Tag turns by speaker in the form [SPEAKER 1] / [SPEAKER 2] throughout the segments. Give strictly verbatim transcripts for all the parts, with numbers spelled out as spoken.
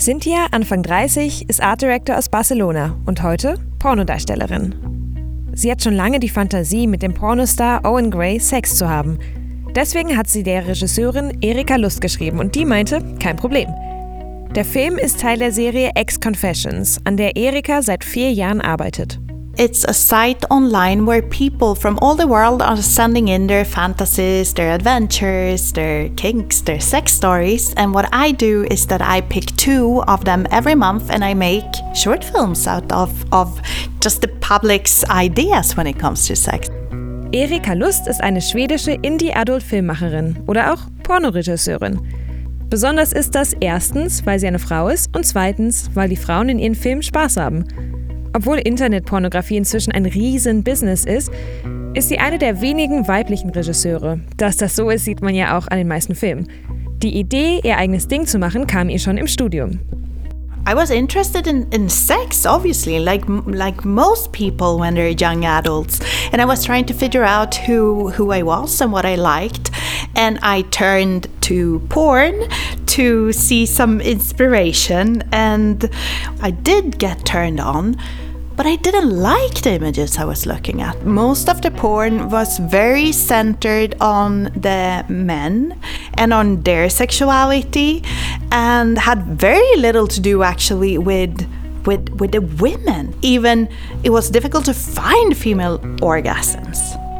[SPEAKER 1] Cynthia, Anfang dreißig, ist Art Director aus Barcelona und heute Pornodarstellerin. Sie hat schon lange die Fantasie, mit dem Pornostar Owen Gray Sex zu haben. Deswegen hat sie der Regisseurin Erika Lust geschrieben und die meinte, kein Problem. Der Film ist Teil der Serie Ex-Confessions, an der Erika seit vier Jahren arbeitet.
[SPEAKER 2] It's a site online where people from all the world are sending in their fantasies, their adventures, their kinks, their sex stories. And what I do is that I pick two of them every month and I make short films out of, of just the public's ideas when it comes to sex.
[SPEAKER 1] Erika Lust ist eine schwedische Indie-Adult-Filmmacherin oder auch Pornoregisseurin. Besonders ist das erstens, weil sie eine Frau ist und zweitens, weil die Frauen in ihren Filmen Spaß haben. Obwohl Internetpornografie inzwischen ein Riesen-Business ist, ist sie eine der wenigen weiblichen Regisseure. Dass das so ist, sieht man ja auch an den meisten Filmen. Die Idee, ihr eigenes Ding zu machen, kam ihr schon im Studium.
[SPEAKER 2] I was interested in, in sex, obviously, like like most people when they're young adults. And I was trying to figure out who, who I was and what I liked. And I turned to porn to see some inspiration. And I did get turned on. But I didn't like the images I was looking at. Most of the porn was very centered on the men and on their sexuality and had very little to do actually with with with the women. Even it was difficult to find female orgasms.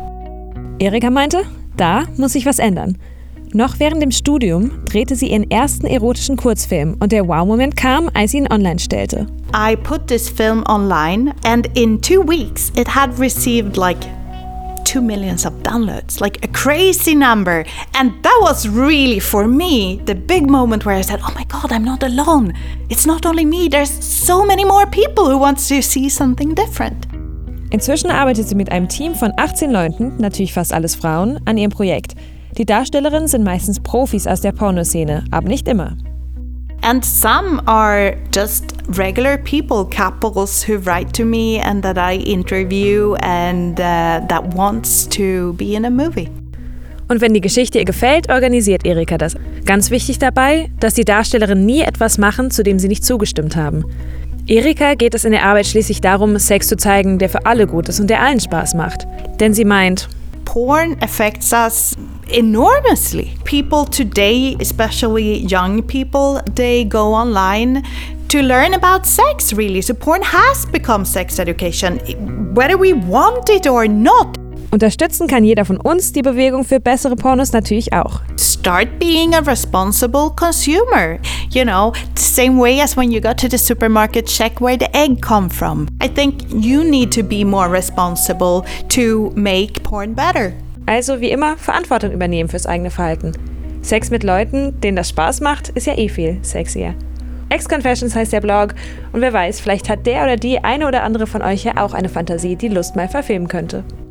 [SPEAKER 1] Erika meinte, da muss sich was ändern. Noch während dem Studium drehte sie ihren ersten erotischen Kurzfilm und der Wow-Moment kam, als sie ihn online stellte.
[SPEAKER 2] I put this film online and in two weeks it had received like two millions of downloads, like a crazy number. And that was really, for me, the big moment where I said, oh my God, I'm not alone. It's not only me, there's so many more people who want to see something different.
[SPEAKER 1] Inzwischen arbeitet sie mit einem Team von achtzehn Leuten, natürlich fast alles Frauen, an ihrem Projekt. Die Darstellerinnen sind meistens Profis aus der Pornoszene, aber nicht immer.
[SPEAKER 2] And some are just regular people, couples who write to me and that I interview and uh, that wants to be in a movie.
[SPEAKER 1] Und wenn die Geschichte ihr gefällt, organisiert Erika das. Ganz wichtig dabei, dass die Darstellerinnen nie etwas machen, zu dem sie nicht zugestimmt haben. Erika geht es in der Arbeit schließlich darum, Sex zu zeigen, der für alle gut ist und der allen Spaß macht. Denn sie meint,
[SPEAKER 2] porn affects us enormously. People today, especially young people, they go online to learn about sex, really. So porn has become sex education, whether we want it or not.
[SPEAKER 1] Unterstützen kann jeder von uns die Bewegung für bessere Pornos natürlich auch.
[SPEAKER 2] Start being a responsible consumer. You know, the same way as when you go to the supermarket, check where the egg come from. I think you need to be more responsible to make porn better.
[SPEAKER 1] Also wie immer Verantwortung übernehmen fürs eigene Verhalten. Sex mit Leuten, denen das Spaß macht, ist ja eh viel sexier. Ex-Confessions heißt der Blog und wer weiß, vielleicht hat der oder die eine oder andere von euch ja auch eine Fantasie, die Lust mal verfilmen könnte.